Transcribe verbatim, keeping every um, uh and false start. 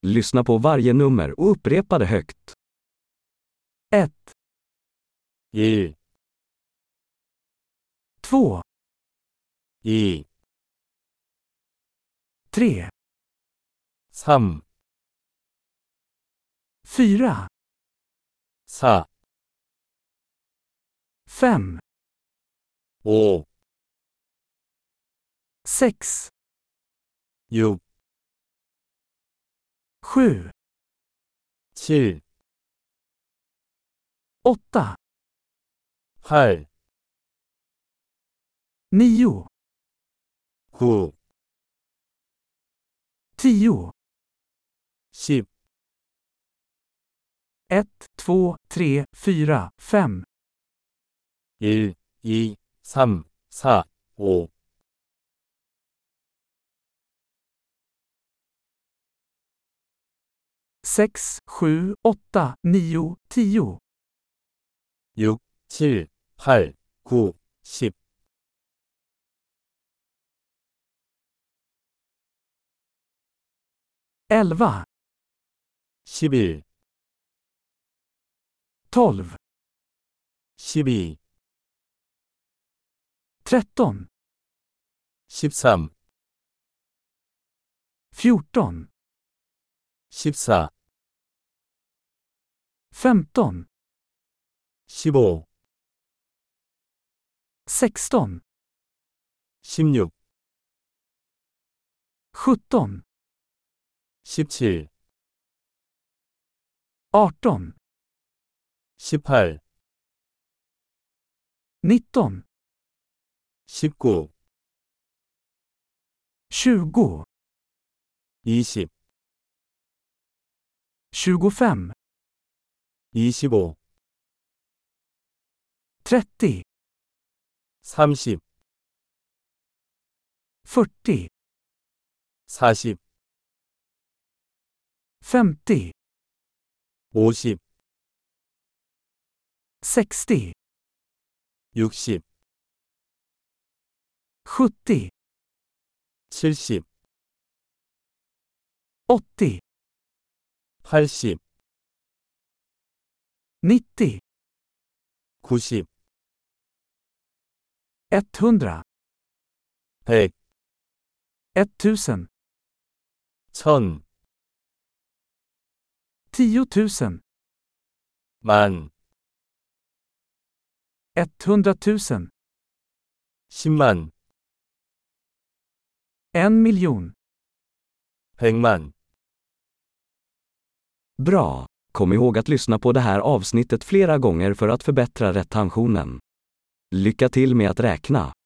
Lyssna på varje nummer och upprepa det högt. ett, 일, två, 이, tre, 삼, fyra, 사, fem, 오, sex, 육, sju, 칠, åtta, 팔, nio, 구, tio, 십, ett, två, tre, fyra, fem, 일, 이, 삼, 사, 오, sex, sju, åtta, nio, tio, 육, 칠, 팔, 구, 십, elva, 십일, tolv, 십이, tretton, 십삼, fjorton, 십사, femton, 십오, sexton, 십육, sjutton, 십칠, arton, 십팔, nitton, 십구, tjugo, 이십, tjugofem, 이십오, trettio, 삼십, fyrtio, 사십, femtio, 오십, sextio, 육십, sjuttio, 칠십, åttio, 팔십, nittio, 구십, etthundra, 백, etttusen, 천, tiotusen, 만, etthundratusen, 십만, en miljon. 백만. Bra! Kom ihåg att lyssna på det här avsnittet flera gånger för att förbättra retentionen. Lycka till med att räkna!